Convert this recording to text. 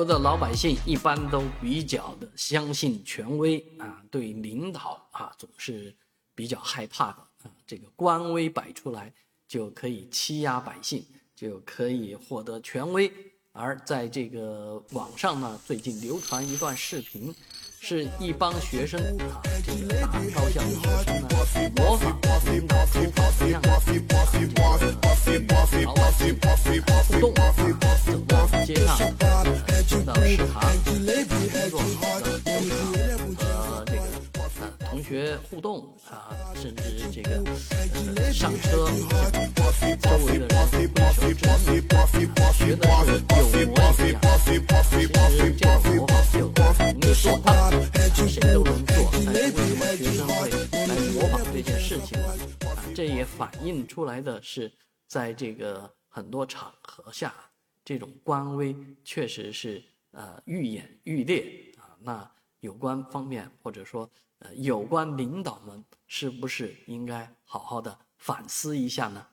的老百姓一般都比较的相信权威啊，对领导啊总是比较害怕的啊。这个官威摆出来就可以欺压百姓，就可以获得权威。而在这个网上呢，最近流传一段视频，是一帮学生啊，这个大高校的学生呢，模仿领导出访的样子，与老百姓互动啊，走到街上，走到食堂，工作和这个同学互动啊，甚至这个上车，周围的人挥手致意，学的是有模有样。其实这种模仿就容易做到，谁都能做，但是为什么学生会来模仿这件事情呢？这也反映出来的是，在这个很多场合下，这种官威确实是愈演愈烈啊。那有关方面或者说有关领导们是不是应该好好的反思一下呢？